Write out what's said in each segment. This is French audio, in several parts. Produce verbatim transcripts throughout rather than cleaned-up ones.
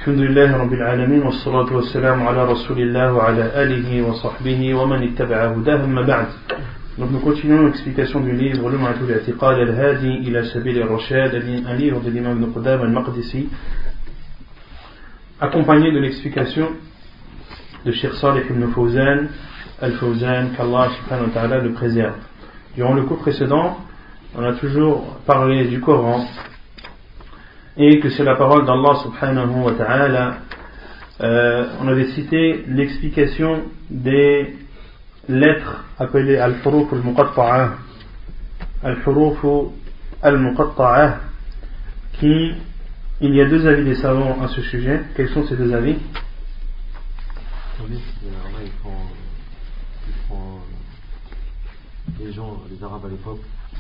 Alhamdulillah Rabbil Alamin, wa salatu wa salam ala Rasulillah wa ala alihi wa sahbihi wa man ittaba'a hudah, amma ba'd. Donc nous continuons l'explication du livre Lum'atul I'tiqad al-Hadi ila Sabil al-Rashad, un livre de l'imam Ibn Qudamah al-Maqdisi, accompagné de l'explication de Cheikh Salih ibn Fawzan al-Fawzan, qu'Allah subhanahu wa ta'ala le préserve. Durant le cours précédent, on a toujours parlé du Coran et que c'est la parole d'Allah subhanahu wa ta'ala. Euh, on avait cité l'explication des lettres appelées al-huruf al-muqatta'ah, al-huruf al-muqatta'ah, qui, il y a deux avis des savants à ce sujet. Quels sont ces deux avis? Oui, ils font, ils font les gens, les Arabes à l'époque,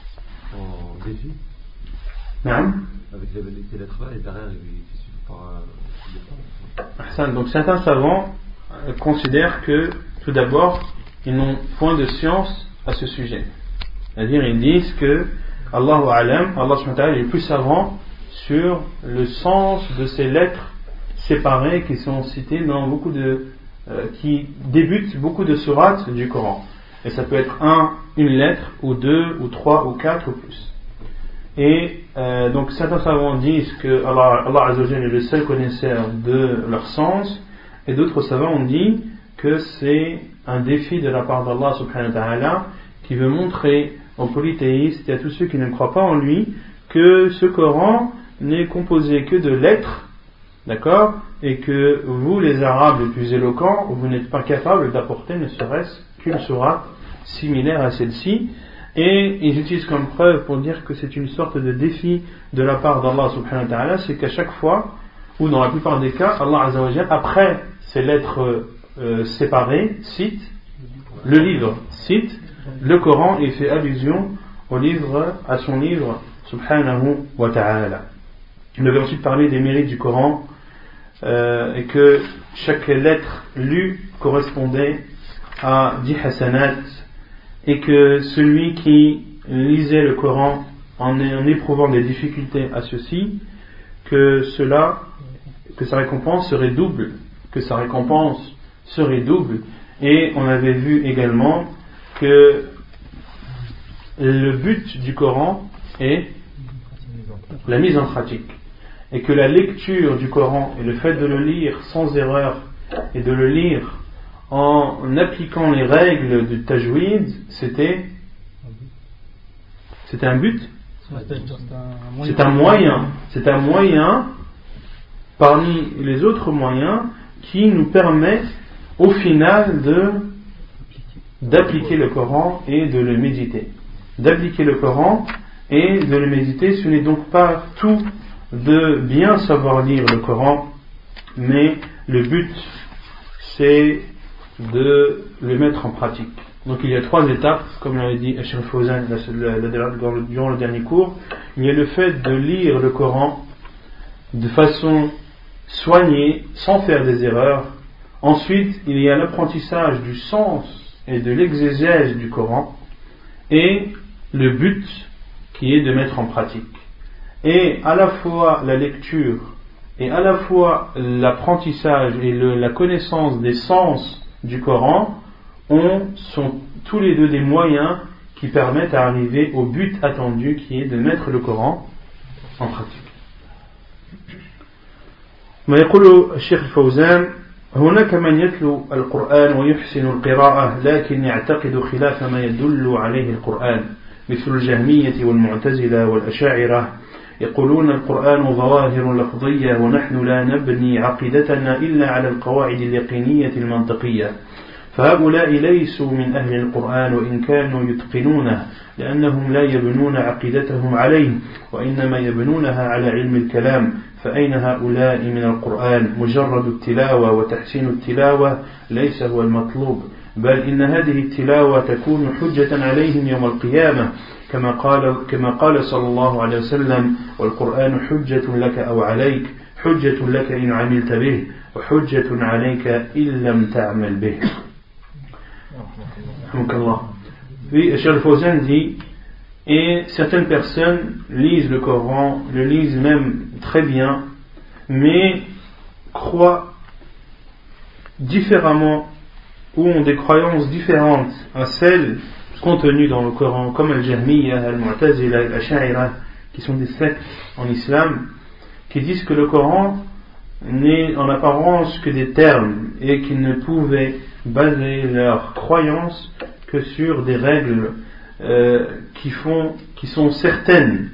en défi. Non. Avec les, les lettres-là, et derrière, il suffit par euh, donc certains savants euh, considèrent que, tout d'abord, ils n'ont point de science à ce sujet. C'est-à-dire, ils disent que Allahu A'lam, Allah subhanahu wa ta'ala est le plus savant sur le sens de ces lettres séparées qui sont citées dans beaucoup de euh, qui débutent beaucoup de sourates du Coran. Et ça peut être un, une lettre, ou deux, ou trois, ou quatre, ou plus. Et euh, donc certains savants disent que Allah, Allah Azza wa Jalla est le seul connaisseur de leur sens, et d'autres savants ont dit que c'est un défi de la part d'Allah subhanahu wa ta'ala qui veut montrer aux polythéistes et à tous ceux qui ne croient pas en lui que ce Coran n'est composé que de lettres, d'accord, et que vous les Arabes les plus éloquents, vous n'êtes pas capables d'apporter ne serait-ce qu'une sourate similaire à celle-ci. Et ils utilisent comme preuve pour dire que c'est une sorte de défi de la part d'Allah subhanahu wa ta'ala, c'est qu'à chaque fois, ou dans la plupart des cas, Allah Azza wa Jalla, après ces lettres euh, séparées, cite le livre, cite le Coran et fait allusion au livre, à son livre subhanahu wa ta'ala. Il avait ensuite parlé des mérites du Coran euh, et que chaque lettre lue correspondait à dix hasanat, et que celui qui lisait le Coran en, en éprouvant des difficultés à ceci, que cela, que sa récompense serait double, que sa récompense serait double. Et on avait vu également que le but du Coran est la mise en pratique, et que la lecture du Coran et le fait de le lire sans erreur et de le lire en appliquant les règles du tajwid, c'était c'était un but, c'est un moyen, c'est un moyen parmi les autres moyens qui nous permet au final de d'appliquer le Coran et de le méditer. D'appliquer le Coran et de le méditer, ce n'est donc pas tout de bien savoir lire le Coran, mais le but c'est de le mettre en pratique. Donc il y a trois étapes, comme l'avait dit Cheikh Fawzan durant le dernier cours. Il y a le fait de lire le Coran de façon soignée, sans faire des erreurs. Ensuite, il y a l'apprentissage du sens et de l'exégèse du Coran, et le but qui est de mettre en pratique. Et à la fois la lecture et à la fois l'apprentissage et le, la connaissance des sens du Coran ont, sont tous les deux des moyens qui permettent à arriver au but attendu, qui est de mettre le Coran en pratique. ما يقول الشيخ الفوزان: هناك من يتلو القرآن ويحسن القراءة لكن يعتقد خلاف ما يدل عليه القرآن، مثل الجهمية والمعتزلة والأشاعرة، يقولون القرآن ظواهر لفظية ونحن لا نبني عقيدتنا إلا على القواعد اليقينية المنطقية، فهؤلاء ليسوا من أهل القرآن وإن كانوا يتقنونه، لأنهم لا يبنون عقيدتهم عليه وإنما يبنونها على علم الكلام، فأين هؤلاء من القرآن؟ مجرد التلاوة وتحسين التلاوة ليس هو المطلوب، بل إن هذه التلاوة تكون حجة عليهم يوم القيامة، كما قال كما قال صلى الله عليه وسلم: والقرآن حجة لك أو عليك، حجة لك إن عملت به وحجة عليك إن لم تعمل به. Oui, Cheikh Fawzan dit, et certaines personnes lisent le Coran, le lisent même très bien, mais croient différemment ou ont des croyances différentes à celles contenues dans le Coran, comme Al-Jahmiyya, Al-Mu'tazila, Al-Ash'ira, qui sont des sectes en islam, qui disent que le Coran n'est en apparence que des termes et qu'ils ne pouvaient baser leur croyance que sur des règles euh, qui, font, qui sont certaines.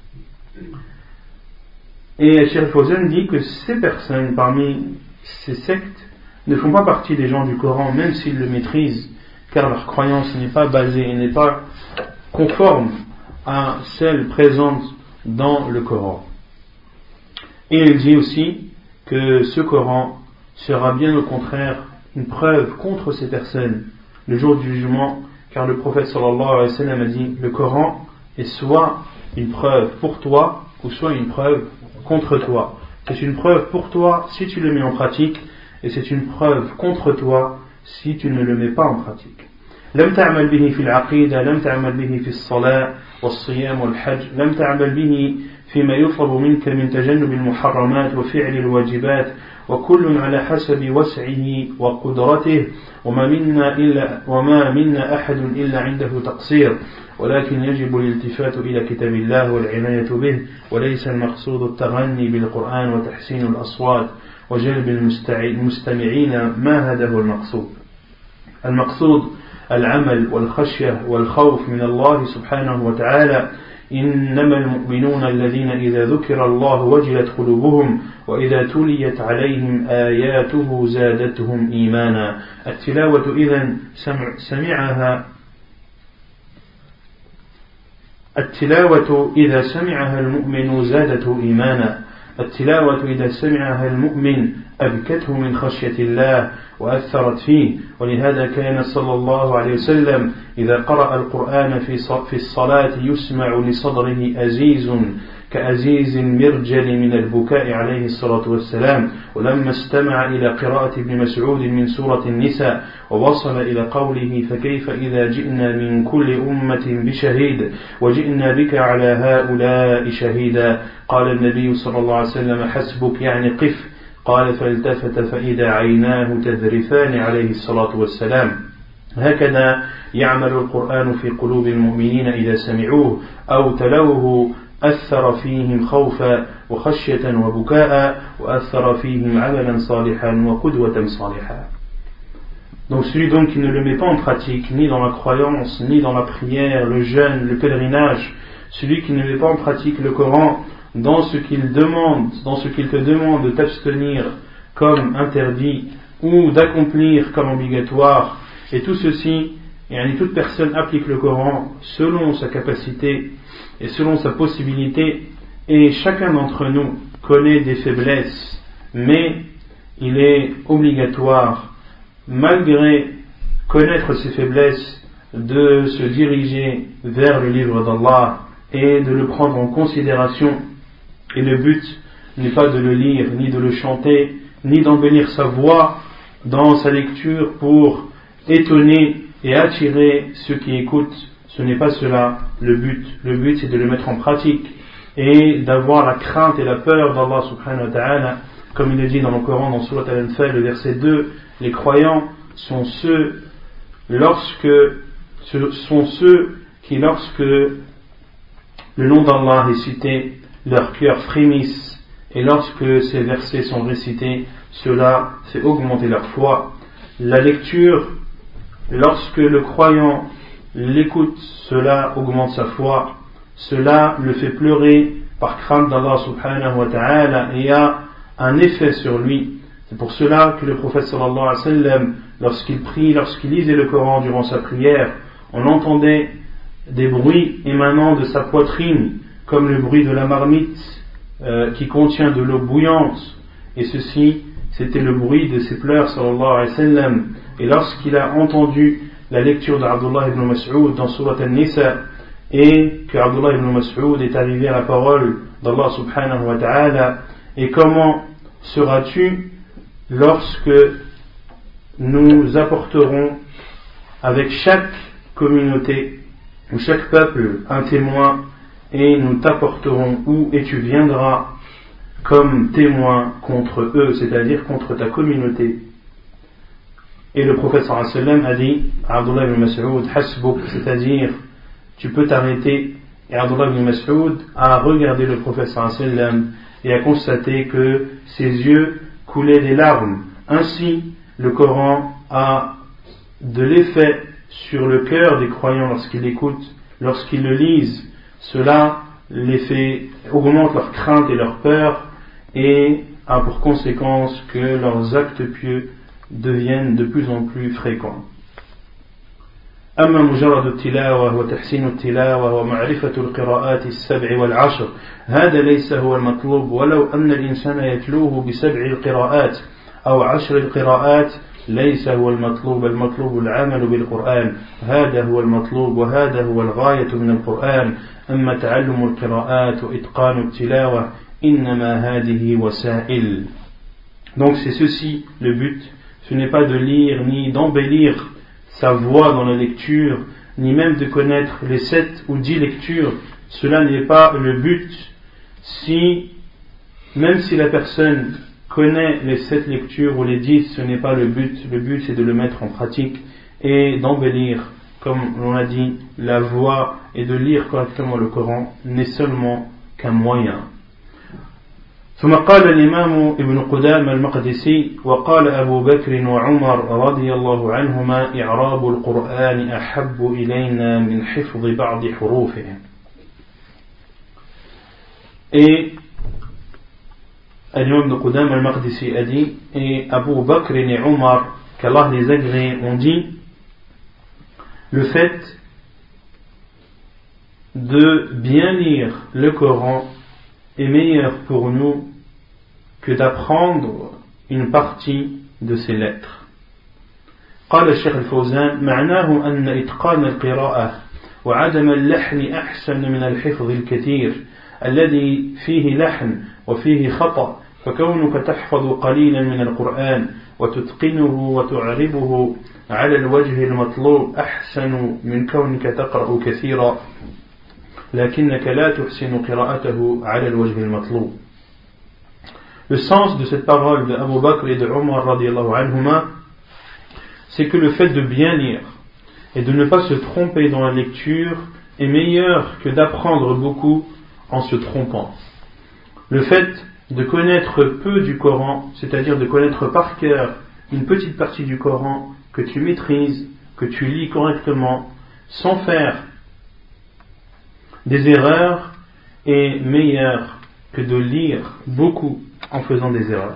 Et Cheikh Fawzan dit que ces personnes parmi ces sectes ne font pas partie des gens du Coran, même s'ils le maîtrisent, car leur croyance n'est pas basée, n'est pas conforme à celle présente dans le Coran. Et il dit aussi que ce Coran sera bien au contraire une preuve contre ces personnes le jour du jugement, car le prophète sallallahu alayhi wa sallam a dit: le Coran est soit une preuve pour toi ou soit une preuve contre toi. C'est une preuve pour toi si tu le mets en pratique, et c'est une preuve contre toi si tu ne le mets pas en pratique. لم تعمل به في العقيدة، لم تعمل به في الصلاة والصيام والحج، لم تعمل به فيما يطلب منك من تجنب المحرمات وفعل الواجبات، وكل على حسب وسعه وقدرته، وما منا إلا وما منا أحد إلا عنده تقصير، ولكن يجب الالتفات إلى كتاب الله والعناية به، وليس المقصود التغني بالقرآن وتحسين الأصوات وجلب المستمعين، ما هذا هو المقصود. المقصود العمل والخشية والخوف من الله سبحانه وتعالى. إنما المؤمنون الذين إذا ذكر الله وجلت قلوبهم وإذا تليت عليهم آياته زادتهم إيمانا. التلاوة إذن سمعها التلاوة إذا سمعها المؤمن زادته إيمانا. التلاوة إذا سمعها المؤمن أبكته من خشية الله وأثرت فيه، ولهذا كان صلى الله عليه وسلم إذا قرأ القرآن في الصلاة يسمع لصدره أزيز كأزيز المرجل من البكاء عليه الصلاة والسلام. ولما استمع إلى قراءة ابن مسعود من سورة النساء ووصل إلى قوله: فكيف إذا جئنا من كل أمة بشهيد وجئنا بك على هؤلاء شهيدا، قال النبي صلى الله عليه وسلم: حسبك، يعني قف. قال: فالتفت فإذا عيناه تذرفان عليه الصلاة والسلام. هكذا يعمل القرآن في قلوب المؤمنين إذا سمعوه أو تلوه، أثر فيهم خوفا وخشية وبكاء، وأثر فيهم عملا صالحا وقدوة صالحا. Donc celui donc qui ne le met pas en pratique, ni dans la croyance, ni dans la prière, le jeûne, le pèlerinage, celui qui ne met pas en pratique le Coran, dans ce qu'il demande, dans ce qu'il te demande de t'abstenir comme interdit ou d'accomplir comme obligatoire, et tout ceci, et toute personne applique le Coran selon sa capacité et selon sa possibilité, et chacun d'entre nous connaît des faiblesses, mais il est obligatoire, malgré connaître ses faiblesses, de se diriger vers le livre d'Allah et de le prendre en considération. Et le but n'est pas de le lire, ni de le chanter, ni d'embellir sa voix dans sa lecture pour étonner et attirer ceux qui écoutent. Ce n'est pas cela le but. Le but, c'est de le mettre en pratique et d'avoir la crainte et la peur d'Allah subhanahu wa ta'ala. Comme il est dit dans le Coran, dans Surat Al-Anfal, le verset deux, les croyants sont ceux, lorsque, ce sont ceux qui, lorsque le nom d'Allah est cité, leurs cœurs frémissent, et lorsque ces versets sont récités, cela fait augmenter leur foi. La lecture, lorsque le croyant l'écoute, cela augmente sa foi, cela le fait pleurer par crainte d'Allah subhanahu wa ta'ala et a un effet sur lui. C'est pour cela que le prophète sallallahu alayhi wa sallam, lorsqu'il prie, lorsqu'il lisait le Coran durant sa prière, on entendait des bruits émanant de sa poitrine, comme le bruit de la marmite euh, qui contient de l'eau bouillante, et ceci c'était le bruit de ses pleurs sallallahu alayhi wa sallam. Et lorsqu'il a entendu la lecture d'Abdullah ibn Mas'ud dans Surat An-Nisa, et que Abdullah ibn Mas'ud est arrivé à la parole d'Allah subhanahu wa ta'ala: et comment seras-tu lorsque nous apporterons avec chaque communauté ou chaque peuple un témoin, et nous t'apporterons où, et tu viendras comme témoin contre eux, c'est-à-dire contre ta communauté. Et le prophète sallallahu alayhi wa sallam a dit à Abdullah ibn Mas'ud, hasbuk, c'est-à-dire tu peux t'arrêter. Et Abdullah ibn Mas'ud a regardé le prophète sallallahu alayhi wa sallam et a constaté que ses yeux coulaient des larmes. Ainsi, le Coran a de l'effet sur le cœur des croyants lorsqu'ils l'écoutent, lorsqu'ils le lisent. Cela les fait augmente leur crainte et leur peur et a pour conséquence que leurs actes pieux deviennent de plus en plus fréquents. أما مجرد التلاوة وتحسين التلاوة ومعرفة القراءات السبع والعشر هذا ليس هو المطلوب ولو أن الإنسان يتلوه بسبع القراءات أو عشر القراءات ليس هو المطلوب المطلوب العمل بالقرآن هذا هو المطلوب وهذا هو الغاية من القرآن أما تعلم القراءات وإتقان التلاوة إنما هذه وسائل. Donc c'est ceci le but, ce n'est pas de lire ni d'embellir sa voix dans la lecture, ni même de connaître les sept ou dix lectures. Cela n'est pas le but. Si, même si la personne connaît les sept lectures ou les dix, ce n'est pas le but. Le but c'est de le mettre en pratique et d'embellir, comme on a dit, la voix et de lire correctement le Coran n'est seulement qu'un moyen. ثم قال الإمام ابن قدامة المقدسي وقال أبو بكر وعمر رضي الله عنهما إعراب القرآن أحب إلينا من حفظ بعض حروفه. Et l'imam ibn Qudama al-Maqdisi a dit, et Abu Bakr et Omar, qu'Allah les agrée, ont dit, le fait de bien lire le Coran est meilleur pour nous que d'apprendre une partie de ses lettres. قال الشيخ الفوزان معناه أن إتقان القراءة وعدم اللحن أحسن من الحفظ الكثير الذي فيه لحن وفيه خطأ فكونك تحفظ قليلا من القرآن وتتقنه وتعربه على الوجه المطلوب أحسن من كونك تقرأ كثيرا لكنك لا تحسن قراءته على الوجه المطلوب. Le sens de cette parole de Abu Bakr et de Omar radiallahu anhuma, c'est que le fait de bien lire et de ne pas se tromper dans la lecture est meilleur que d'apprendre beaucoup en se trompant. Le fait de connaître peu du Coran, c'est-à-dire de connaître par cœur une petite partie du Coran que tu maîtrises, que tu lis correctement, sans faire des erreurs, est meilleur que de lire beaucoup en faisant des erreurs.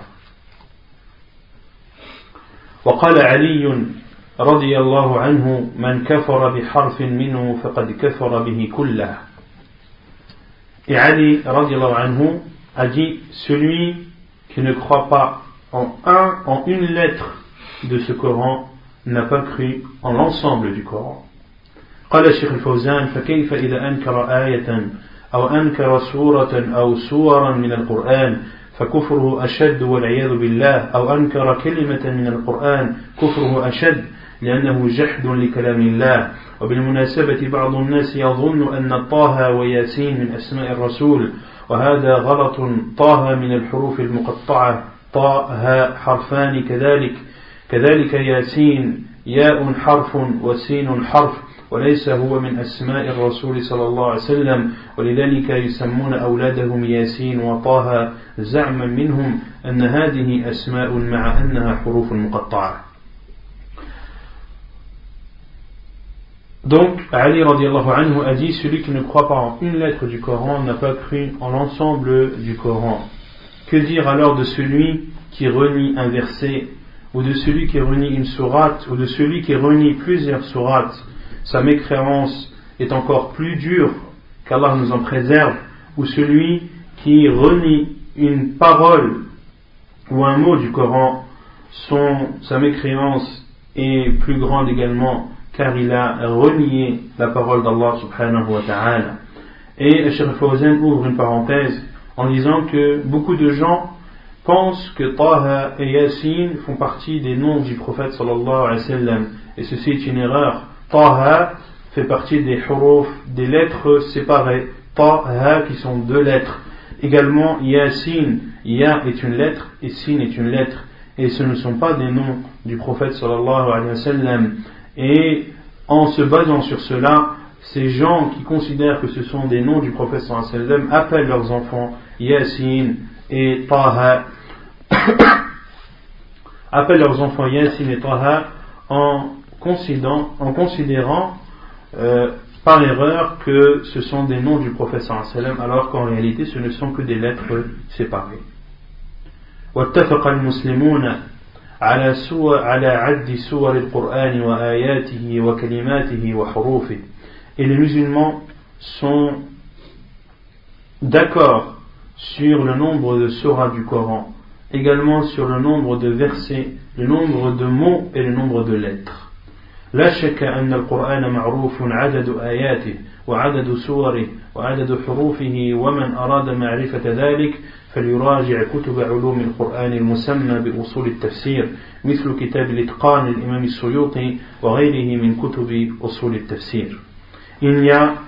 وقال علي رضي الله عنه من كفر بحرف منه فقد كفر به كله. Et Ali radiallahu anhu a dit, celui qui ne croit pas en un, en une lettre de ce Coran n'a pas cru en l'ensemble du Coran. قال الشيخ الفوزان فكيف إذا أنكر آية أو أنكر سورة أو سورا من القرآن فكفره أشد والعياذ بالله أو أنكر كلمة من القرآن كفره أشد لأنه جحد لكلام الله. وبالمناسبة بعض الناس يظن أن طه وياسين من أسماء الرسول وهذا غلط. طه من الحروف المقطعة طه حرفان كذلك كذلك ياسين ياء حرف وسين حرف وليس هو من أسماء الرسول صلى الله عليه وسلم ولذلك يسمون أولادهم ياسين وطه زعما منهم أن هذه أسماء مع أنها حروف مقطعة. Donc, Ali radiallahu anhu a dit, celui qui ne croit pas en une lettre du Coran n'a pas cru en l'ensemble du Coran. Que dire alors de celui qui renie un verset, ou de celui qui renie une sourate, ou de celui qui renie plusieurs sourates? Sa mécréance est encore plus dure, qu'Allah nous en préserve, ou celui qui renie une parole ou un mot du Coran, son, sa mécréance est plus grande également, car il a renié la parole d'Allah subhanahu wa ta'ala. Et Cheikh Fawzan ouvre une parenthèse en disant que beaucoup de gens pensent que Taha et Yasin font partie des noms du prophète sallallahu alayhi wa sallam, et ceci est une erreur. Taha fait partie des huruf, des lettres séparées, Taha qui sont deux lettres. Également Yasin, Ya est une lettre et Sin est une lettre, et ce ne sont pas des noms du prophète sallallahu alayhi wa sallam. Et en se basant sur cela, ces gens qui considèrent que ce sont des noms du prophète sallallahu alayhi wa sallam appellent leurs enfants Yasin et Taha, appellent leurs enfants Yasin et Taha en considérant, en considérant euh, par erreur que ce sont des noms du prophète sallallahu alayhi wa sallam, alors qu'en réalité ce ne sont que des lettres séparées. واتفق المسلمون على سور على عد سور القرآن وآياته وكلماته وحروفه. Et les musulmans sont d'accord sur le nombre de suras du Coran, également sur le nombre de versets, le nombre de mots et le nombre de lettres. لا شك أن القرآن معروف عدد آياته وعدد سوره وعدد حروفه، ومن أراد معرفة ذلك فليراجع كتب علوم القرآن المسمى بأصول التفسير مثل كتاب الإتقان للإمام السيوطي وغيره من كتب أصول التفسير. Il n'y a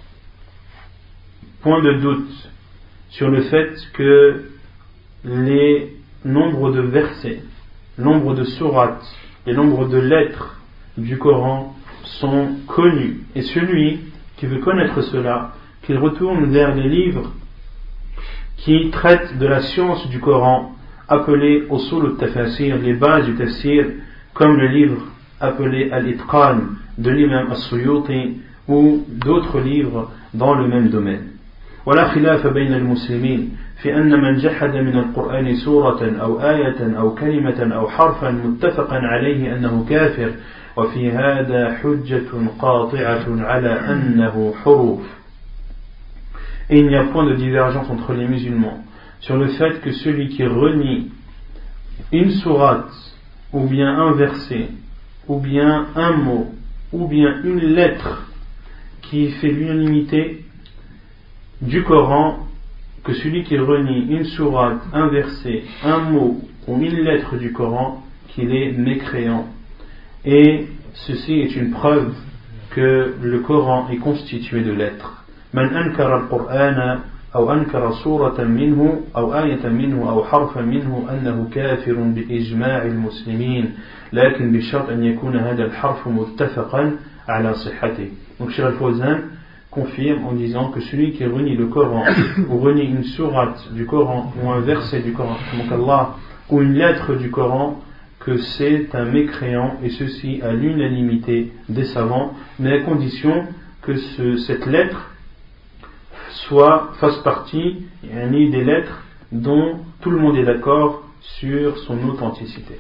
point de doute sur le fait que les nombres de versets, nombre de sourates, les nombres de lettres du Coran sont connus, et celui qui veut connaître cela, qu'il retourne vers les livres qui traitent de la science du Coran, appelés Usul al-Tafasir, les bases du tafsir, comme le livre appelé Al-Itqan de l'imam As-Suyuti, ou d'autres livres dans le même domaine. ولا خلاف بين المسلمين في أن من جحد من القرآن سورة أو آية أو كلمة أو حرفا متفقا عليه أنه كافر، وفي هذا حجة قاطعة على أنه حروف. Et il n'y a point de divergence entre les musulmans sur le fait que celui qui renie une sourate, ou bien un verset, ou bien un mot, ou bien une lettre qui fait l'unanimité du Coran, que celui qui renie une sourate, un verset, un mot ou une lettre du Coran, qu'il est mécréant. Et ceci est une preuve que le Coran est constitué de lettres. من أنكر القرآن أو أنكر سورة منه أو آية منه أو حرفا منه أنه كافر بإجماع المسلمين، لكن بشرط أن يكون هذا الحرف متفقا على صحته. Donc Cheikh Al-Fawzan confirme en disant que celui qui renie le Coran ou renie une sourate du Coran ou un verset du Coran donc Allah, ou une lettre du Coran, que c'est un mécréant, et ceci à l'unanimité des savants, mais à condition que ce, cette lettre soit, fasse partie des lettres dont tout le monde est d'accord sur son authenticité.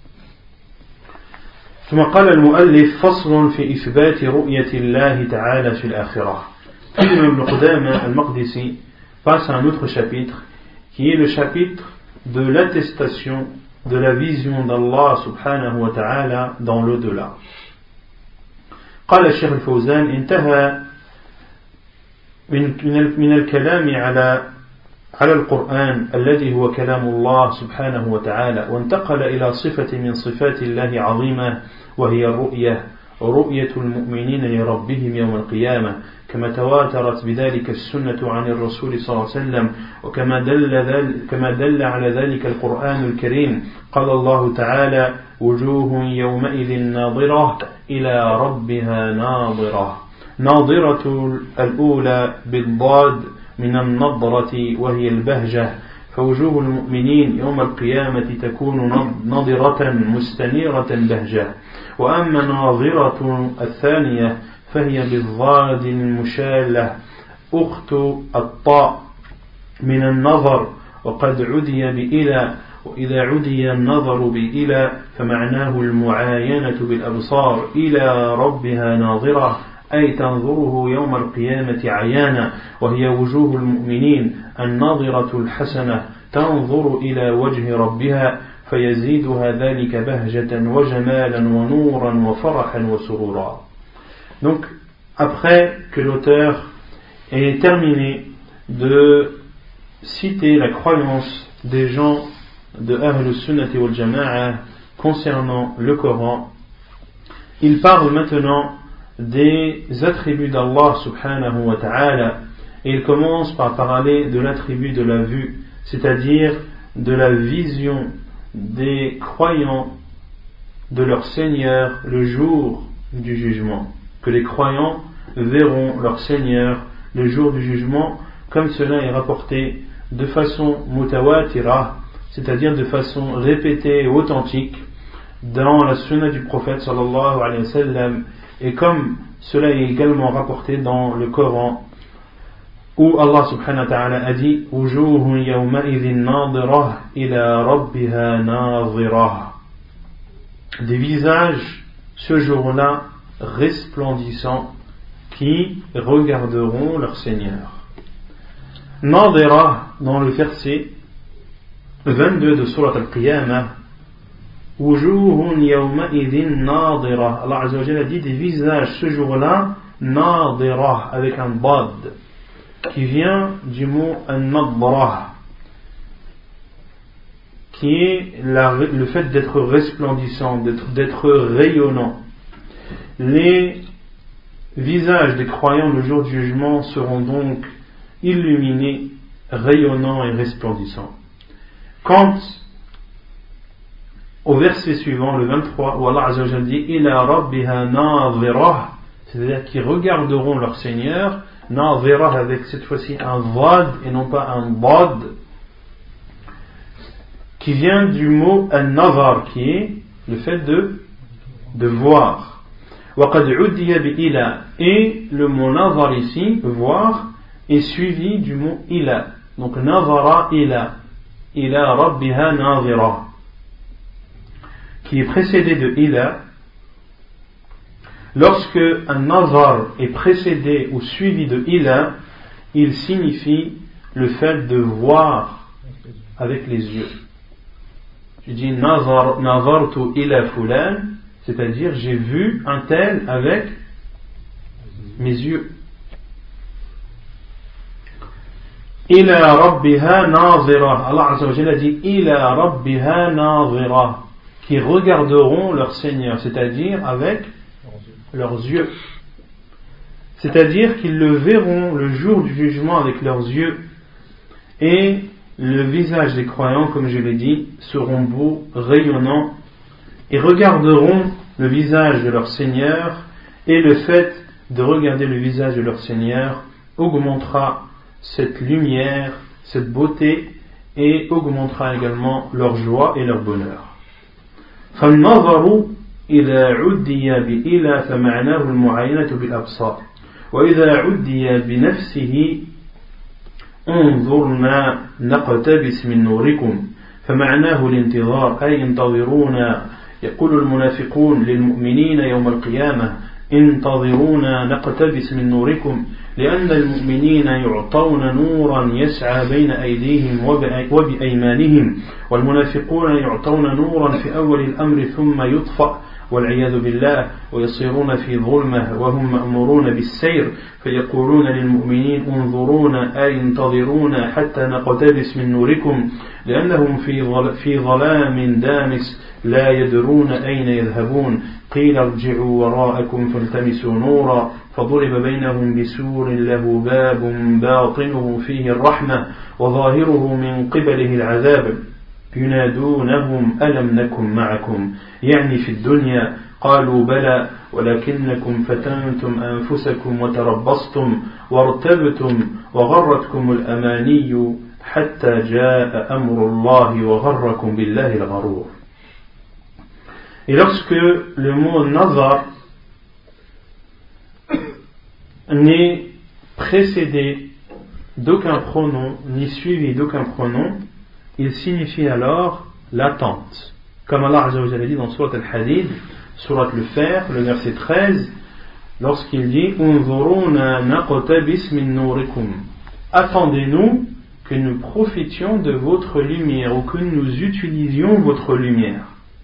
ثم قال المؤلف فصل في إثبات رؤية الله تعالى في الآخرة. Puis l'imam Ibn Qudama al-Maqdisi passe à un autre chapitre qui est le chapitre de l'attestation de la vision d'Allah subhanahu wa ta'ala dans l'au-delà. قال الشيخ الفوزان انتهى من من الكلام على على القرآن الذي هو كلام الله سبحانه وتعالى، وانتقل إلى صفة من صفات الله عظيمة وهي الرؤية، رؤية المؤمنين لربهم يوم القيامة، كما تواترت بذلك السنة عن الرسول صلى الله عليه وسلم، وكما دل ذلك كما دل على ذلك القرآن الكريم. قال الله تعالى: وجوه يومئذ ناظرة إلى ربها ناظرة. ناظرة الأولى بالضاد من النظرة وهي البهجة، فوجوه المؤمنين يوم القيامة تكون نضرة مستنيرة بهجة. وأما ناظرة الثانية فهي بالضاد المشالة أخت الطاء من النظر، وقد عدي بإلى، وإذا عدي النظر بإلى فمعناه المعاينة بالأبصار إلى ربها ناظرة، أي تنظره يوم القيامة عيانا، وهي وجوه المؤمنين الناظرة الحسنة تنظر إلى وجه ربها فيزيدها ذلك بهجة وجمالا ونورا وفرحا وسرورا. Donc, après que l'auteur ait terminé de citer la croyance des gens de Ahl Sunnati wal Jama'a concernant le Coran, il parle maintenant des attributs d'Allah subhanahu wa ta'ala, et il commence par parler de l'attribut de la vue, c'est-à-dire de la vision des croyants de leur Seigneur le jour du jugement, que les croyants verront leur Seigneur le jour du jugement, comme cela est rapporté de façon mutawatira, c'est-à-dire de façon répétée et authentique dans la sunna du prophète sallallahu alayhi wa sallam, et comme cela est également rapporté dans le Coran, où Allah subhanahu wa ta'ala a dit wujuhun yawma'idhin nadirah ila rabbiha nadirah, des visages ce jour-là resplendissants qui regarderont leur Seigneur. Nadirah, dans le verset vingt-deux de Surat Al-Qiyamah, wujuhun yawma'idhin nadirah, Allah Azza wa Jalla a dit des visages ce jour-là nadirah, avec un bad qui vient du mot an-nadrah, qui est la, le fait d'être resplendissant, d'être, d'être rayonnant. Les visages des croyants le jour du jugement seront donc illuminés, rayonnants et resplendissants. Quant au verset suivant, le vingt-trois, où Allah Azza wa Jalla dit ila rabbiha nadhirah, c'est-à-dire qu'ils regarderont leur Seigneur, nadhirah avec cette fois-ci un vad et non pas un bad, qui vient du mot an-nazar, qui est le fait de, de voir. وَقَدْ عُدِّيَ بِإِلَا, et le mot nazar ici, voir, est suivi du mot ila. Donc nazara ila, ila rabbiha nazira, qui est précédé de ila. Lorsque un nazar est précédé ou suivi de ila, il signifie le fait de voir avec les yeux. Je dis nazar, nazartu ila fulan, c'est-à-dire j'ai vu un tel avec mes yeux. Ila rabbiha nazira, Allah Azza wa Jalla dit ila rabbiha nazira, qui regarderont leur Seigneur, c'est-à-dire avec leurs yeux, c'est-à-dire qu'ils le verront le jour du jugement avec leurs yeux, et le visage des croyants, comme je l'ai dit, seront beaux, rayonnants, et regarderont le visage de leur Seigneur, et le fait de regarder le visage de leur Seigneur augmentera cette lumière, cette beauté, et augmentera également leur joie et leur bonheur. فالنظر إذا عدي بإلى فمعناه المعاينة بالأبصار وإذا عدي بنفسه انظرنا نقتبس من نوركم فمعناه الانتظار أي انتظرونا يقول المنافقون للمؤمنين يوم القيامة انتظرونا نقتبس من نوركم لأن المؤمنين يعطون نورا يسعى بين أيديهم وبأيمانهم والمنافقون يعطون نورا في أول الأمر ثم يطفأ والعياذ بالله ويصيرون في ظلمة وهم مأمورون بالسير فيقولون للمؤمنين انظرونا أي انتظرونا حتى نقتبس من نوركم لأنهم في ظلام دامس لا يدرون أين يذهبون قيل ارجعوا وراءكم فالتمسوا نورا فضرب بينهم بسور له باب باطنه فيه الرحمة وظاهره من قبله العذاب ينادونهم ألم نكن معكم يعني في الدنيا قالوا بلى ولكنكم فتنتم أنفسكم وتربصتم وارتبتم وغرتكم الأماني حتى جاء أمر الله وغركم بالله الغرور. Et lorsque le mot nazar n'est précédé d'aucun pronom ni suivi d'aucun pronom, il signifie alors l'attente. Comme Allah Azza wa Jalla dit dans Surat Al-Hadid, Surat le Fer, le verset treize, lorsqu'il dit Unzuruna naqtabis min nurikum, attendez-nous que nous profitions de votre lumière ou que nous utilisions votre lumière.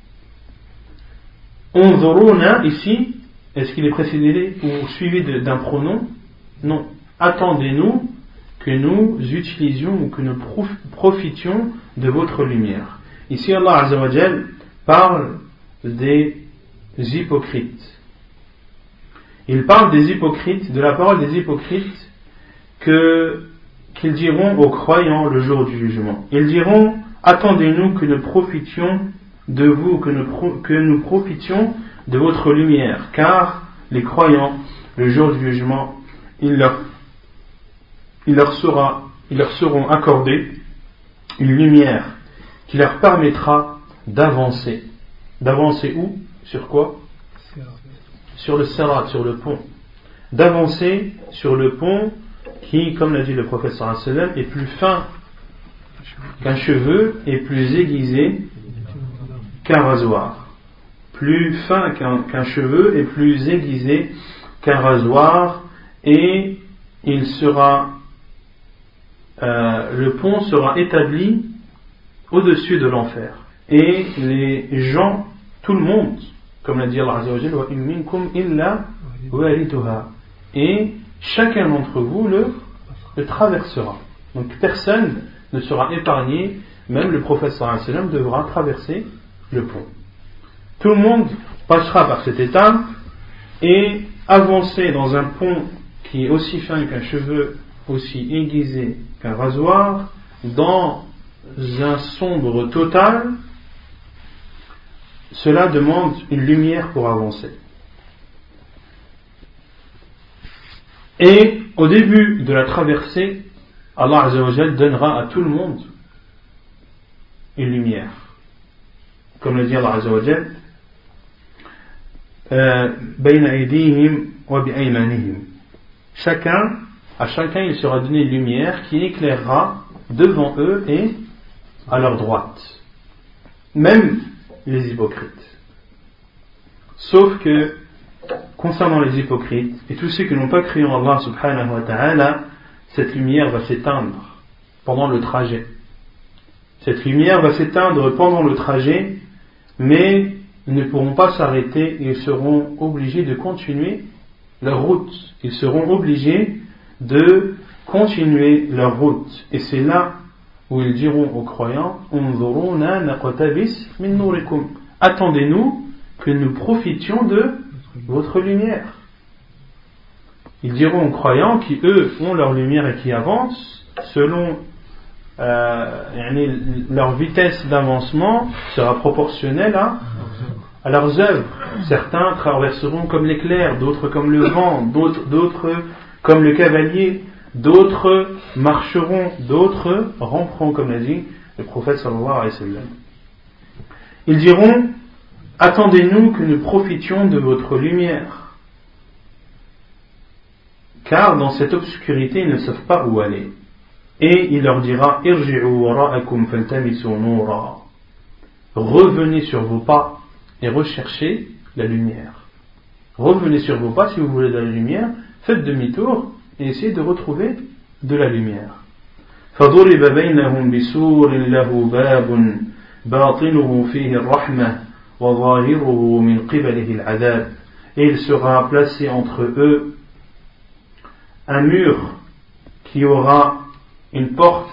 Unzuruna ici, est-ce qu'il est précédé ou suivi d'un pronom? Non. Attendez-nous que nous utilisions ou que nous profitions de votre lumière. Ici Allah Azza wa Jalla parle des hypocrites. Il parle des hypocrites, de la parole des hypocrites que, qu'ils diront aux croyants le jour du jugement. Ils diront, attendez-nous que nous profitions de vous, que nous, pro- que nous profitions de votre lumière, car les croyants, le jour du jugement, il leur, il leur sera, ils leur seront accordés une lumière qui leur permettra d'avancer. D'avancer où? Sur quoi? Sur le sirat, sur le pont. D'avancer sur le pont qui, comme l'a dit le prophète sallallahu alayhi wa sallam, est plus fin qu'un cheveu et plus aiguisé qu'un rasoir. Plus fin qu'un, qu'un cheveu et plus aiguisé qu'un rasoir, et il sera euh, le pont sera établi au-dessus de l'enfer. Et les gens, tout le monde, comme l'a dit Allah Azza wa Jalla, wa in minkum illa wariduha, et chacun d'entre vous le, le traversera. Donc personne ne sera épargné, même le prophète sallallahu alayhi wa sallam devra traverser le pont. Tout le monde passera par cette étape et avancer dans un pont qui est aussi fin qu'un cheveu, aussi aiguisé qu'un rasoir, dans un sombre total, cela demande une lumière pour avancer. Et au début de la traversée, Allah Azza wa Jal donnera à tout le monde une lumière. Comme le dit Allah Azza wa Jal, bayna aydihim wa bi aymanihim. Chacun, à chacun il sera donné une lumière qui éclairera devant eux et à leur droite. Même les hypocrites. Sauf que, concernant les hypocrites et tous ceux qui n'ont pas cru en Allah subhanahu wa ta'ala, cette lumière va s'éteindre pendant le trajet. Cette lumière va s'éteindre pendant le trajet, mais ils ne pourront pas s'arrêter et ils seront obligés de continuer leur route. Ils seront obligés de continuer leur route. Et c'est là où ils diront aux croyants, Unzuruna naqtabis min nurikum. Attendez-nous que nous profitions de votre lumière. Ils diront aux croyants qui eux ont leur lumière et qui avancent selon euh, leur vitesse d'avancement sera proportionnelle à, à leurs œuvres. Certains traverseront comme l'éclair, d'autres comme le vent, d'autres, d'autres comme le cavalier, d'autres marcheront, d'autres ramperont, comme l'a dit le prophète sallallahu alayhi wa sallam. Ils diront, attendez-nous que nous profitions de votre lumière, car dans cette obscurité ils ne savent pas où aller. Et il leur dira, irji'u wara'akum faltamisu nura. Revenez sur vos pas et recherchez la lumière. Revenez sur vos pas si vous voulez de la lumière, faites demi-tour et essayez de retrouver de la lumière. فضرب بينهم بسور له باب باطنه فيه الرحمة وظاهره من قبله العذاب. Et il sera placé entre eux un mur qui aura une porte,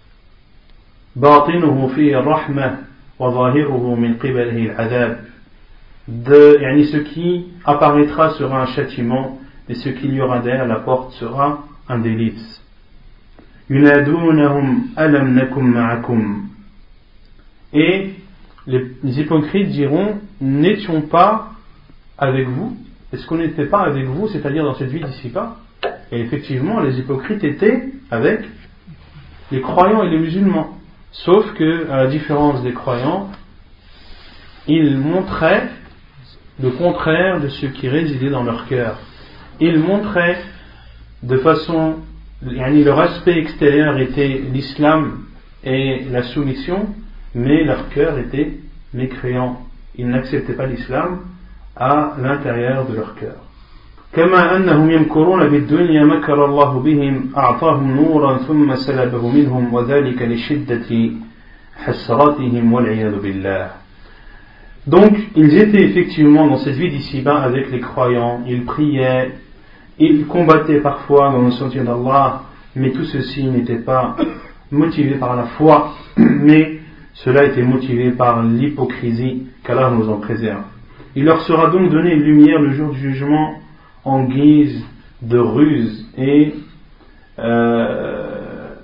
باطنه فيه الرحمة وظاهره من قبله العذاب. De, yani ce qui apparaîtra sera un châtiment et ce qu'il y aura derrière la porte sera un délice. ينادونهم ألم نكن معكم. Et les hypocrites diront, n'étions pas avec vous? Est-ce qu'on n'était pas avec vous, c'est-à-dire dans cette vie d'ici-bas? Et effectivement, les hypocrites étaient avec les croyants et les musulmans. Sauf que, à la différence des croyants, ils montraient le contraire de ce qui résidait dans leur cœur. Ils montraient de façon, leur aspect extérieur était l'islam et la soumission, mais leur cœur était mécréant. Ils n'acceptaient pas l'islam à l'intérieur de leur cœur. كما أنهم يمكرون بالدنيا مكر الله بهم أعطاهم نورا ثم سلبه منهم وذلك لشدة حسراتهم والعياذ بالله. Donc, ils étaient effectivement dans cette vie d'ici-bas avec les croyants, ils priaient, ils combattaient parfois dans le sentier d'Allah, mais tout ceci n'était pas motivé par la foi, mais cela était motivé par l'hypocrisie, qu'Allah nous en préserve. Il leur sera donc donné une lumière le jour du jugement en guise de ruse et euh,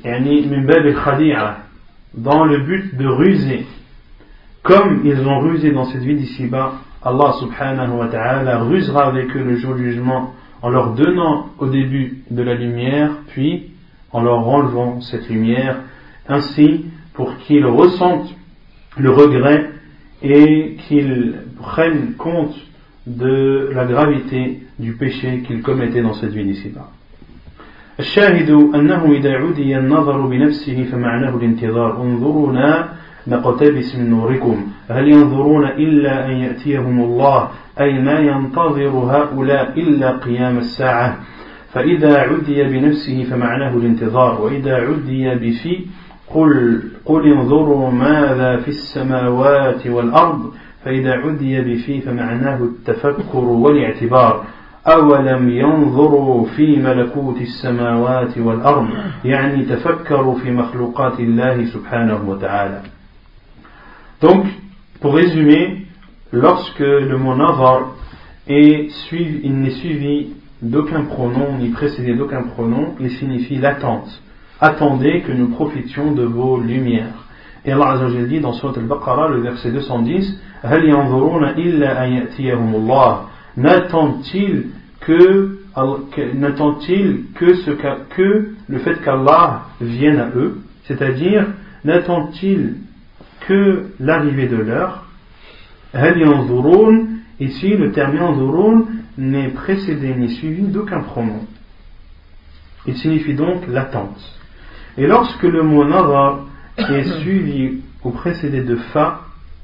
yani min bab al-khadi'a, dans le but de ruser, comme ils ont rusé dans cette vie d'ici-bas, Allah subhanahu wa ta'ala rusera avec eux le jour du jugement en leur donnant au début de la lumière, puis en leur enlevant cette lumière, ainsi pour qu'ils ressentent le regret et qu'ils prennent compte de la gravité du péché qu'ils commettaient dans cette vie d'ici-bas. الشاهد أنه إذا عدي النظر بنفسه فمعناه الانتظار انظرونا نقتبس من نوركم هل ينظرون إلا أن يأتيهم الله أي ما ينتظر هؤلاء إلا قيام الساعة فإذا عدي بنفسه فمعناه الانتظار وإذا عدي بفي قل, قل انظروا ماذا في السماوات والأرض فإذا عدي بفي فمعناه التفكر والاعتبار أولم ينظروا في ملكوت السماوات والأرض يعني تفكروا في مخلوقات الله سبحانه وتعالى. Donc, pour résumer, lorsque le mot nazar est suivi, il n'est suivi d'aucun pronom, ni précédé d'aucun pronom, il signifie l'attente. Attendez que nous profitions de vos lumières. Et Allah Azza wa Jalla dit dans Surat al-Baqarah, le verset deux cent dix, هل ينظرون إلا أن يأتيهم الله N'attend-il que, n'attend-il que, ce que le fait qu'Allah vienne à eux, c'est-à-dire n'attend-il que l'arrivée de l'heure. هل ينظرون, ici le terme ينظرون n'est précédé ni suivi d'aucun pronom. Il signifie donc l'attente. Et lorsque le mot nazar est suivi ou précédé de fa,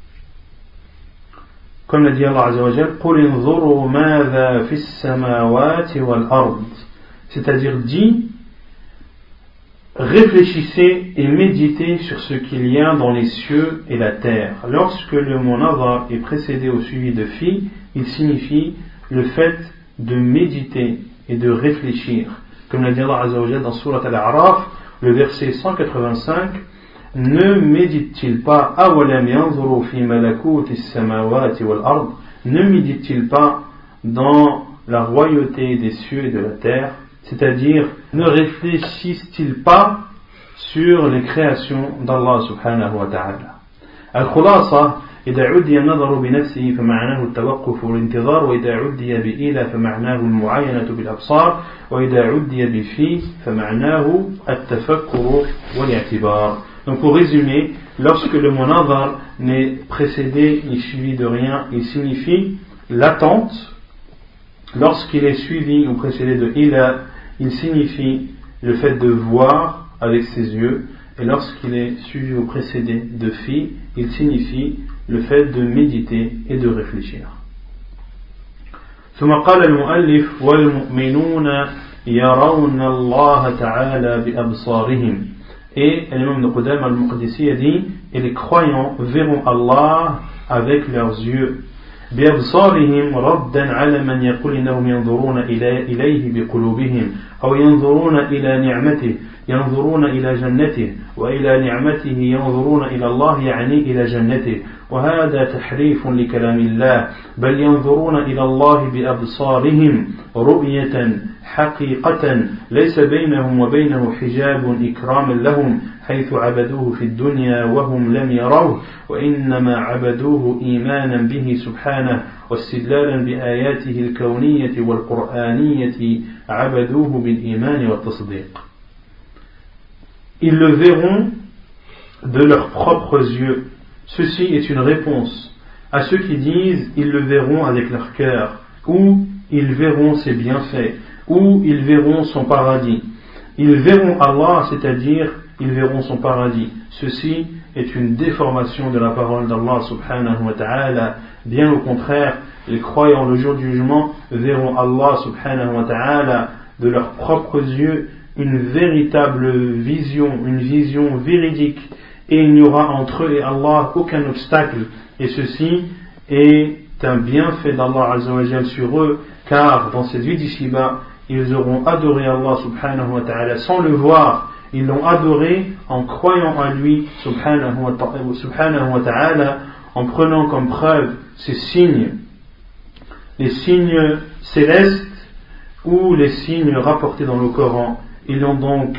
comme l'a dit Allah Azza wa Jalla, قُلْ انظُرُوا مَاذَا فِي السَّمَاوَاتِ وَالْأَرْضِ, c'est-à-dire dit, réfléchissez et méditez sur ce qu'il y a dans les cieux et la terre. Lorsque le mot nazar est précédé au suivi de fi, il signifie le fait de méditer et de réfléchir. Comme l'a dit Allah Azza wa Jalla dans Surat Al-A'raf, le verset cent quatre-vingt-cinq, ne médite-t-il pas أَوَلَمْ يَنْظُرُوا فِي مَلَكُوتِ السَّمَاوَاتِ وَالْأَرْضِ, ne médite-t-il pas dans la royauté des cieux et de la terre, c'est-à-dire ne réfléchissent-ils pas sur les créations d'Allah subhanahu wa ta'ala. Al-Khulasa, إذا عدي النظر بنفسه فمعناه التوقف والانتظار وإذا عدي بإلى فمعناه المعاينة بالأبصار وإذا عدي بفي فمعناه التفكر والاعتبار. Donc pour résumer, lorsque le mot nazar n'est précédé ni suivi de rien, il signifie l'attente. Lorsqu'il est suivi ou précédé de ila, il signifie le fait de voir avec ses yeux. Et lorsqu'il est suivi ou précédé de fi, il signifie le fait de méditer et de réfléchir. ثم قال المؤلف والمؤمنون يرون الله تعالى بأبصارهم. Et l'imam de Qudam al-Muqdisi a dit, et les croyants verront Allah avec leurs yeux. بأبصارهم ردا على من يقول إنهم ينظرون إليه بقلوبهم أو ينظرون إلى نعمته ينظرون إلى جنته وإلى نعمته ينظرون إلى الله يعني إلى جنته وهذا تحريف لكلام الله بل ينظرون إلى الله بأبصارهم رؤية حقيقة ليس بينهم وبينه حجاب إكراما لهم حيث عبدوه في الدنيا وهم لم يروه وإنما عبدوه إيمانا به سبحانه واستدلالا بآياته الكونية والقرآنية عبدوه بالإيمان والتصديق. Ils le verront de leurs propres yeux. Ceci est une réponse à ceux qui disent ils le verront avec leur cœur, ou ils verront ses bienfaits, ou ils verront son paradis. Ils verront Allah, c'est-à-dire ils verront son paradis. Ceci est une déformation de la parole d'Allah subhanahu wa ta'ala. Bien au contraire, les croyants le jour du jugement verront Allah subhanahu wa ta'ala de leurs propres yeux, une véritable vision, une vision véridique, et il n'y aura entre eux et Allah aucun obstacle, et ceci est un bienfait d'Allah Azza wa Jal sur eux, car dans cette vie d'ici-bas, ils auront adoré Allah subhanahu wa ta'ala sans le voir, ils l'ont adoré en croyant à lui subhanahu wa ta'ala, en prenant comme preuve ces signes, les signes célestes ou les signes rapportés dans le Coran. Ils l'ont donc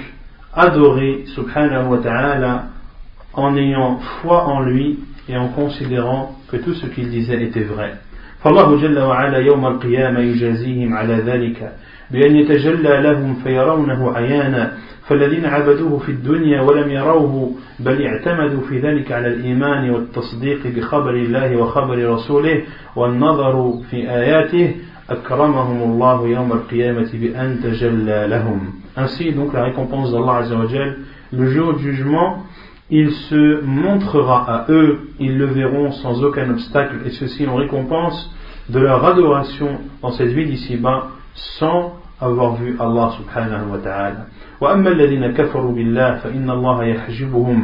adorer subhanahu wa ta'ala en ayant foi en lui et en considérant que tout ce qu'il disait était vrai. فالله جل وعلا يوم القيامة يجازيهم على ذلك بأن يتجلى لهم فيرونه عيانا فالذين عبدوه في الدنيا ولم يروه بل اعتمدوا في ذلك على الإيمان والتصديق بخبر الله وخبر رسوله والنظر في آياته أكرمهم الله يوم القيامة بأن تجلى لهم. Ainsi donc la récompense d'Allah Azza wa Jal, le jour du jugement, il se montrera à eux, ils le verront sans aucun obstacle, et ceci en récompense de leur adoration dans cette vie d'ici-bas sans avoir vu Allah subhanahu wa ta'ala. وأما الذين كفروا بالله فإن الله يحجبهم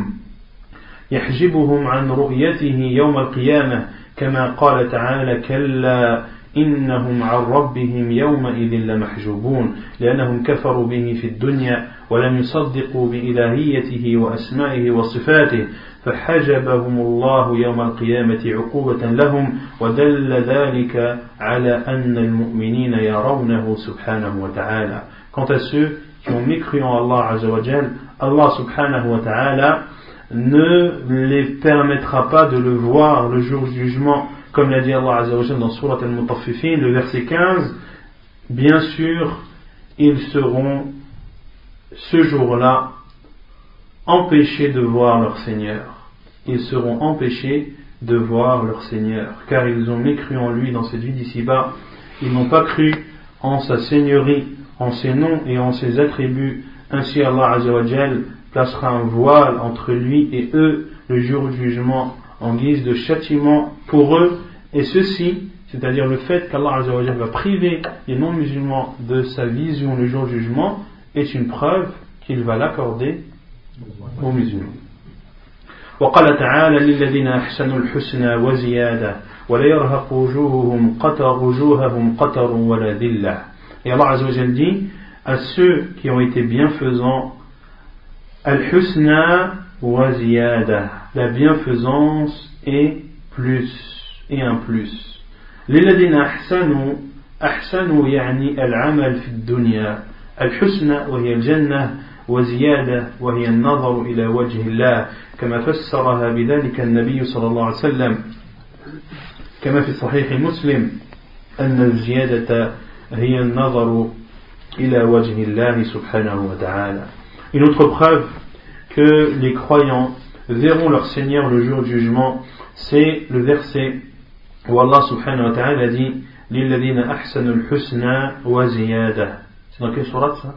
يحجبهم عن رؤيته يوم القيامة كما قال تعالى كلا إنهم عن ربهم يومئذ لمحجوبون لأنهم كفروا به في الدنيا ولم يصدقوا بإلهيته وأسمائه وصفاته فحجبهم الله يوم القيامة عقوبة لهم ودل ذلك على أن المؤمنين يرونه سبحانه وتعالى. Quant à ceux qui ont mécru en Allah Azza wa Jal, Allah subhanahu wa ta'ala ne les permettra pas de le voir le jour du jugement, comme l'a dit Allah Azza wa Jal dans Surat Al-Mutaffifin, le verset quinze. Bien sûr, ils seront ce jour-là empêchés de voir leur Seigneur. Ils seront empêchés de voir leur Seigneur, car ils ont mécru en lui dans cette vie d'ici-bas. Ils n'ont pas cru en sa seigneurie, en ses noms et en ses attributs. Ainsi Allah Azza wa Jal placera un voile entre lui et eux le jour du jugement en guise de châtiment pour eux, et ceci, c'est-à-dire le fait qu'Allah Azza wa Jal va priver les non-musulmans de sa vision le jour du jugement, est une preuve qu'il va l'accorder aux musulmans. وقال تعالى للذين أحسنوا الحسنى وزيادة ولا يرهق وجوههم قتر وجوههم قتر ولا ذلة. Et Allah Azza wa Jal dit à ceux qui ont été bienfaisants, al-husna wa ziyada, la bienfaisance et plus et un plus. للذين أحسنوا أحسنوا يعني العمل في الدنيا الحسنى وهي الجنة وزيادة وهي النظر إلى وجه الله كما فسرها بذلك النبي صلى الله عليه وسلم كما في صحيح مسلم أن الزيادة هي النظر إلى وجه الله سبحانه وتعالى. Une autre preuve que les croyants verront leur Seigneur le jour du jugement, c'est le verset où Allah subhanahu wa ta'ala dit لِلَّذِينَ أَحْسَنُوا الْحُسْنَى وَزِيَادَةً. C'est dans quelle sourate ça?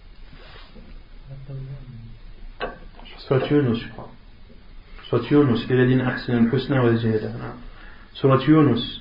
Surat Yunus, je crois. Surat Yunus, لِلَّذِينَ أَحْسَنُوا الْحُسْنَى وَزِيَادَةً. Surat Yunus.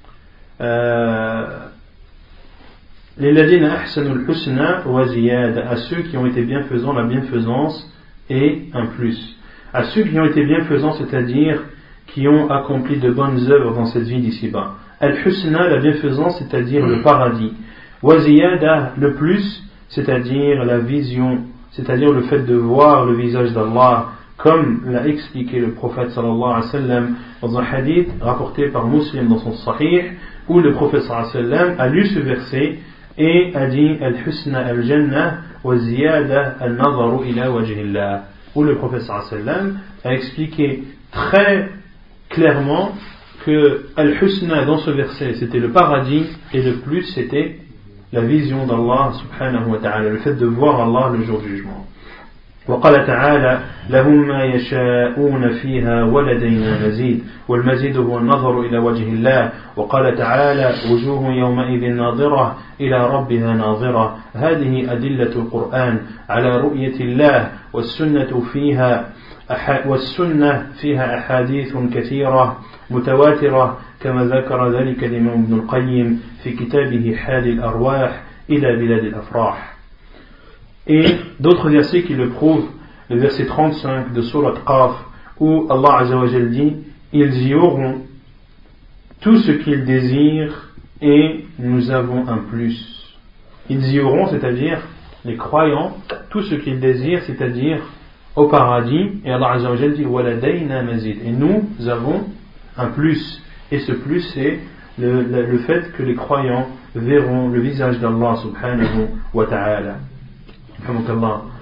لِلَّذِينَ أَحْسَنُوا الْحُسْنَى وَزِيَادَةً. À ceux qui ont été bienfaisants, la bienfaisance et un plus. À ceux qui ont été bienfaisants, c'est-à-dire qui ont accompli de bonnes œuvres dans cette vie d'ici-bas. Al-Husna, la bienfaisance, c'est-à-dire le paradis. Waziyada, le plus, c'est-à-dire la vision, c'est-à-dire le fait de voir le visage d'Allah, comme l'a expliqué le prophète sallallahu alayhi wa sallam dans un hadith rapporté par Muslim dans son Sahih, où le prophète sallallahu alayhi wa sallam a lu ce verset et a dit Al-Husna al-Jannah wa ziyada al-nazaru ila wajhillah, où le prophète sallallahu alayhi wa sallam a expliqué très clairement que Al-Husna dans ce verset c'était le paradis et le plus c'était la vision d'Allah subhanahu wa ta'ala, le fait de voir Allah le jour du jugement. وقال تعالى لهم ما يشاءون فيها ولدينا مزيد والمزيد هو النظر إلى وجه الله. وقال تعالى وجوه يومئذ ناظرة إلى ربها ناظرة. هذه أدلة القرآن على رؤية الله والسنة فيها والسنة فيها أحاديث كثيرة متواترة كما ذكر ذلك الإمام ابن القيم في كتابه حال الأرواح إلى بلاد الأفراح. Et d'autres versets qui le prouvent, le verset trente-cinq de Surat Qaf, où Allah Azza wa Jal dit ils y auront tout ce qu'ils désirent et nous avons un plus. Ils y auront, c'est-à-dire les croyants, tout ce qu'ils désirent, c'est-à-dire au paradis, et Allah Azza wa Jal dit waladayna mazid, et nous avons un plus, et ce plus c'est le, le, le fait que les croyants verront le visage d'Allah subhanahu wa ta'ala.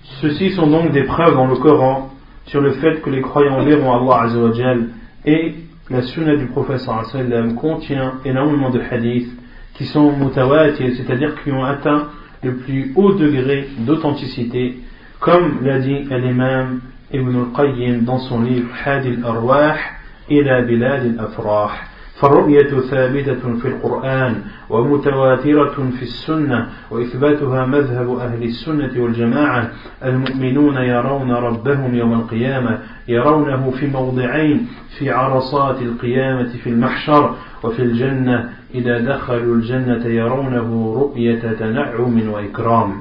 Ceux-ci sont donc des preuves dans le Coran sur le fait que les croyants verront Allah Azza wa Jal, et la sunna du prophète sallallahu alayhi wa sallam contient énormément de hadiths qui sont mutawatir, c'est-à-dire qui ont atteint le plus haut degré d'authenticité, comme l'a dit l'imam Ibn al-Qayyim dans son livre Hadi al-Arwah ila bilad al-Afrah. فالرؤية ثابتة في القرآن ومتواترة في السنة وإثباتها مذهب أهل السنة والجماعة. المؤمنون يرون ربهم يوم القيامة، يرونه في موضعين: في عرصات القيامة في المحشر، وفي الجنة إذا دخلوا الجنة يرونه رؤية تنعم وإكرام.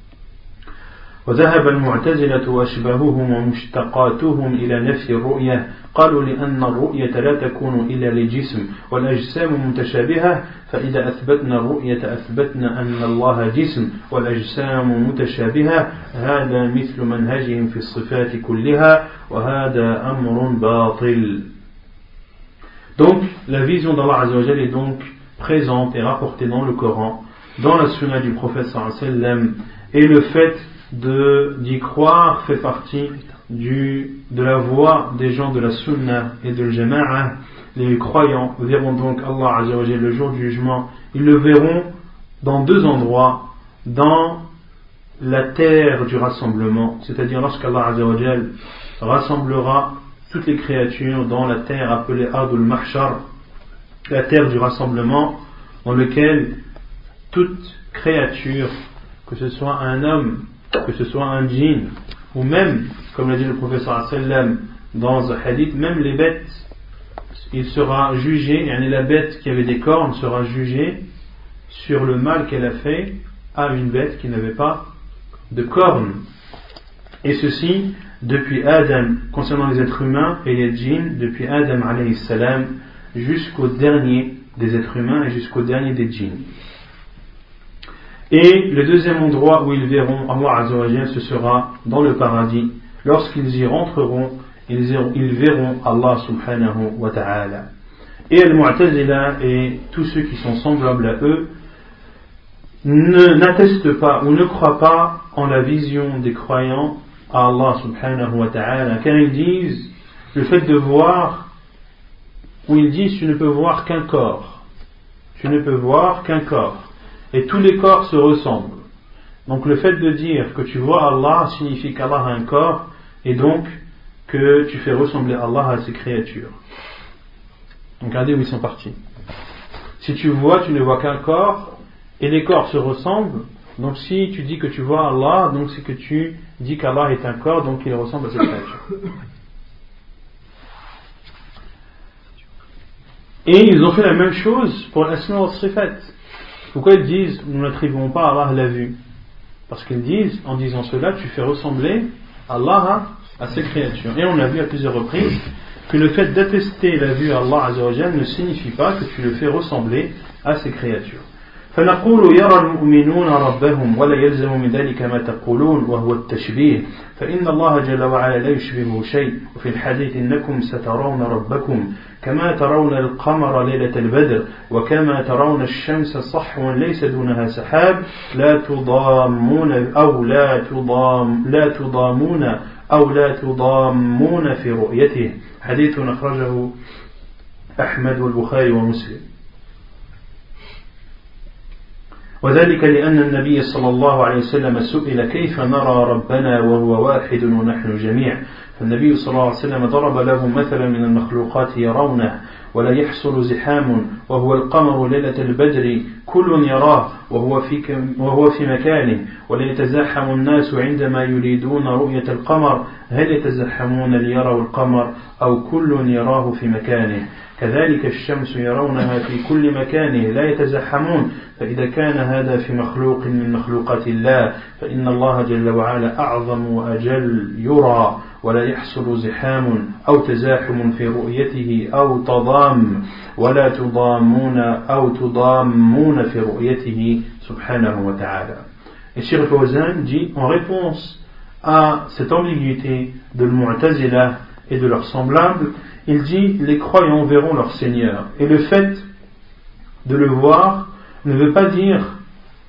وذهب المعتزلة وأشباههم ومشتقاتهم إلى نفي الرؤية، قالوا لأن الرؤية لا تكون إلا لجسم والأجسام متشابهة، فإذا أثبتنا الرؤية أثبتنا أن الله جسم والأجسام متشابهة، هذا مثل منهجهم في الصفات كلها وهذا أمر باطل. Donc la vision d'Allah Azza wa Jal est donc présente et rapportée dans le Coran, dans la sunna du prophète sallallahu alayhi wa sallam, et le fait de, d'y croire fait partie du, de la voie des gens de la sunna et de l'jama'a. Les croyants verront donc Allah Azza wa Jal le jour du jugement. Ils le verront dans deux endroits: dans la terre du rassemblement, c'est-à-dire lorsqu'Allah Azza wa Jal rassemblera toutes les créatures dans la terre appelée Ardul Mahshar, la terre du rassemblement, dans lequel toute créature, que ce soit un homme, que ce soit un djinn, ou même, comme l'a dit le prophète sallallahu alayhi wa sallam dans un hadith, même les bêtes, il sera jugé, et la bête qui avait des cornes sera jugée sur le mal qu'elle a fait à une bête qui n'avait pas de cornes. Et ceci depuis Adam, concernant les êtres humains et les djinns, depuis Adam alayhi salam jusqu'au dernier des êtres humains et jusqu'au dernier des djinns. Et le deuxième endroit où ils verront Allah Azza wa Jal, ce sera dans le paradis. Lorsqu'ils y rentreront, ils, iront, ils verront Allah subhanahu wa ta'ala. Et Al-Mu'tazila et tous ceux qui sont semblables à eux ne, n'attestent pas ou ne croient pas en la vision des croyants à Allah subhanahu wa ta'ala, car ils disent le fait de voir, ou ils disent tu ne peux voir qu'un corps, tu ne peux voir qu'un corps. Et tous les corps se ressemblent. Donc le fait de dire que tu vois Allah signifie qu'Allah a un corps, et donc que tu fais ressembler Allah à ses créatures. Donc regardez où ils sont partis. Si tu vois, tu ne vois qu'un corps, et les corps se ressemblent, donc si tu dis que tu vois Allah, donc c'est que tu dis qu'Allah est un corps, donc il ressemble à ses créatures. Et ils ont fait la même chose pour l'asma wa sifat. Pourquoi ils disent nous n'attribuons pas à Allah la vue? Parce qu'ils disent, en disant cela, tu fais ressembler Allah à, à ses créatures. Et on a vu à plusieurs reprises que le fait d'attester la vue à Allah Azza wa Jal ne signifie pas que tu le fais ressembler à ses créatures. فنقول يرى المؤمنون ربهم ولا يلزم من ذلك ما تقولون وهو التشبيه فإن الله جل وعلا لا يشبهه شيء وفي الحديث إنكم سترون ربكم كما ترون القمر ليلة البدر وكما ترون الشمس صحوا ليس دونها سحاب لا تضامون أو لا تضام لا تضامون أو لا تضامون في رؤيته. حديث أخرجه أحمد والبخاري ومسلم. وذلك لأن النبي صلى الله عليه وسلم سئل كيف نرى ربنا وهو واحد ونحن جميع، فالنبي صلى الله عليه وسلم ضرب له مثلا من المخلوقات يرونه ولا يحصل زحام وهو القمر ليلة البدر كل يراه وهو في, وهو في مكانه ولا يتزاحم الناس عندما يريدون رؤية القمر هل يتزحمون ليروا القمر أو كل يراه في مكانه. كذلك الشمس يرونها في كل مكان لا يتزحمون، فإذا كان هذا في مخلوق من مخلوقات الله فإن الله جل وعلا أعظم وأجل يرى ولا يحصل زحام أو تزاحم في رؤيته أو تضام ولا تضامون أو تضامون في رؤيته سبحانه وتعالى. Et Cheikh Fawzan dit en réponse à cette ambiguïté de l'Mu'tazila et de leurs semblables, il dit les croyants verront leur Seigneur, et le fait de le voir ne veut pas dire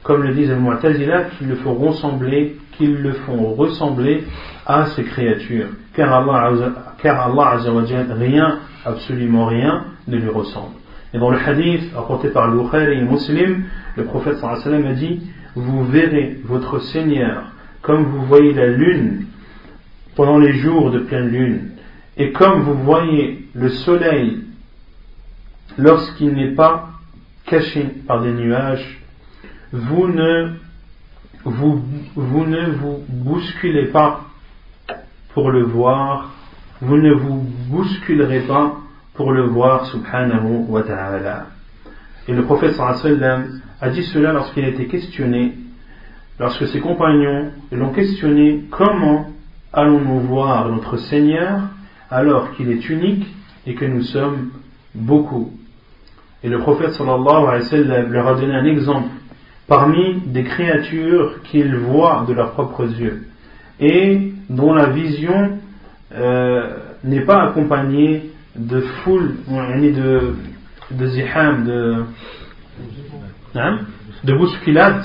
comme le disent les Mu'tazila, qu'ils le font ressembler, qu'ils le font ressembler à ces créatures. Car Allah, car Allah Azza wa Jal, rien, absolument rien, ne lui ressemble. Et dans le hadith rapporté par Bukhari et Muslim, le prophète sallallahu alayhi wa sallam a dit: vous verrez votre Seigneur comme vous voyez la lune pendant les jours de pleine lune, et comme vous voyez le soleil lorsqu'il n'est pas caché par des nuages. Vous ne vous, vous ne vous bousculez pas pour le voir, vous ne vous bousculerez pas pour le voir, subhanahu wa ta'ala. Et le prophète sallallahu alayhi wa sallam a dit cela lorsqu'il a été questionné, lorsque ses compagnons l'ont questionné: comment allons-nous voir notre Seigneur alors qu'il est unique et que nous sommes beaucoup? Et le prophète sallallahu alayhi wa sallam leur a donné un exemple parmi des créatures qu'ils voient de leurs propres yeux et dont la vision euh, n'est pas accompagnée de foule, ni de, de ziham, de, hein, de bousculade,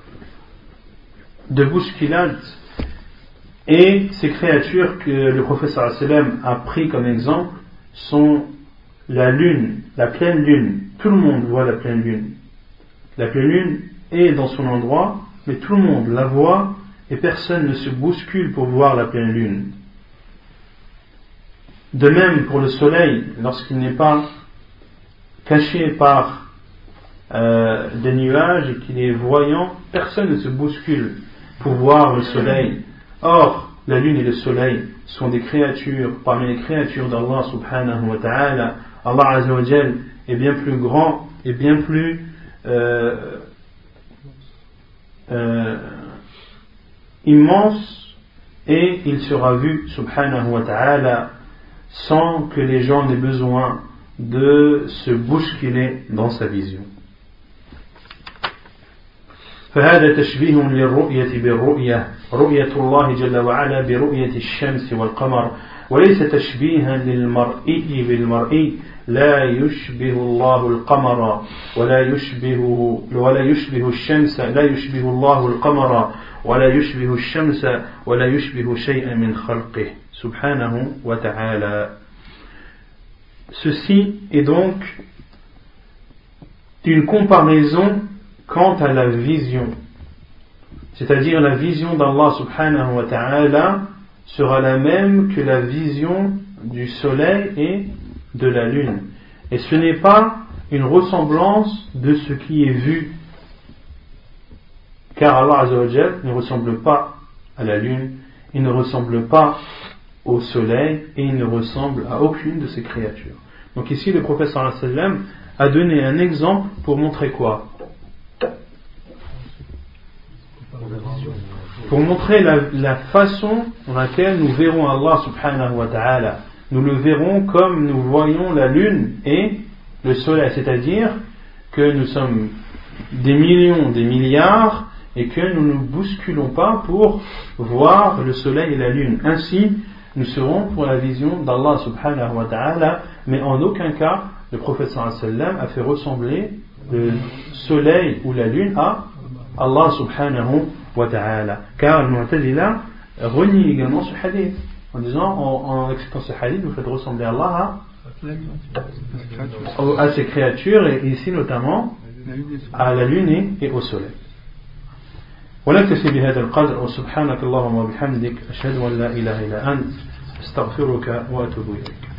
de bousculade. Et ces créatures que le prophète sallallahu alayhi wa sallam a pris comme exemple sont la lune, la pleine lune. Tout le monde voit la pleine lune. La pleine lune est dans son endroit, mais tout le monde la voit et personne ne se bouscule pour voir la pleine lune. De même pour le soleil, lorsqu'il n'est pas caché par euh, des nuages et qu'il est voyant, personne ne se bouscule pour voir le soleil. Or, la lune et le soleil sont des créatures parmi les créatures d'Allah subhanahu wa ta'ala. Allah Azza wa Jal est bien plus grand et bien plus euh, euh, immense, et il sera vu subhanahu wa ta'ala sans que les gens n'aient besoin de se bousculer dans sa vision. فهذا تشبيه للرؤية بالرؤية رؤية الله جل وعلا برؤية الشمس والقمر وليس تشبيها للمرئي بالمرئي لا يشبه الله القمر ولا يشبه ولا يشبه الشمس لا يشبه الله القمر ولا يشبه الشمس ولا يشبه شيئا من خلقه سبحانه وتعالى. Ceci est donc une comparaison quant à la vision, c'est-à-dire la vision d'Allah subhanahu wa ta'ala sera la même que la vision du soleil et de la lune. Et ce n'est pas une ressemblance de ce qui est vu, car Allah Azza wa Jal ne ressemble pas à la lune, il ne ressemble pas au soleil et il ne ressemble à aucune de ses créatures. Donc ici le prophète sallallahu alayhi wa sallam a donné un exemple pour montrer quoi? Pour montrer la, la façon dans laquelle nous verrons Allah subhanahu wa ta'ala. Nous le verrons comme nous voyons la lune et le soleil, c'est-à-dire que nous sommes des millions, des milliards et que nous ne nous bousculons pas pour voir le soleil et la lune. Ainsi, nous serons pour la vision d'Allah subhanahu wa ta'ala, mais en aucun cas le prophète sallallahu alayhi wa sallam a fait ressembler le soleil ou la lune à Allah subhanahu wa ta'ala. Car le Mu'tazila renie également ce hadith en disant, en, en acceptant ce hadith, vous faites ressembler Allah à, à ses créatures, et ici notamment à la lune et au soleil. ونكتفي بهذا القدر وسبحانك اللهم وبحمدك أشهد أن لا إله إلا أنت أستغفرك وأتوب إليك.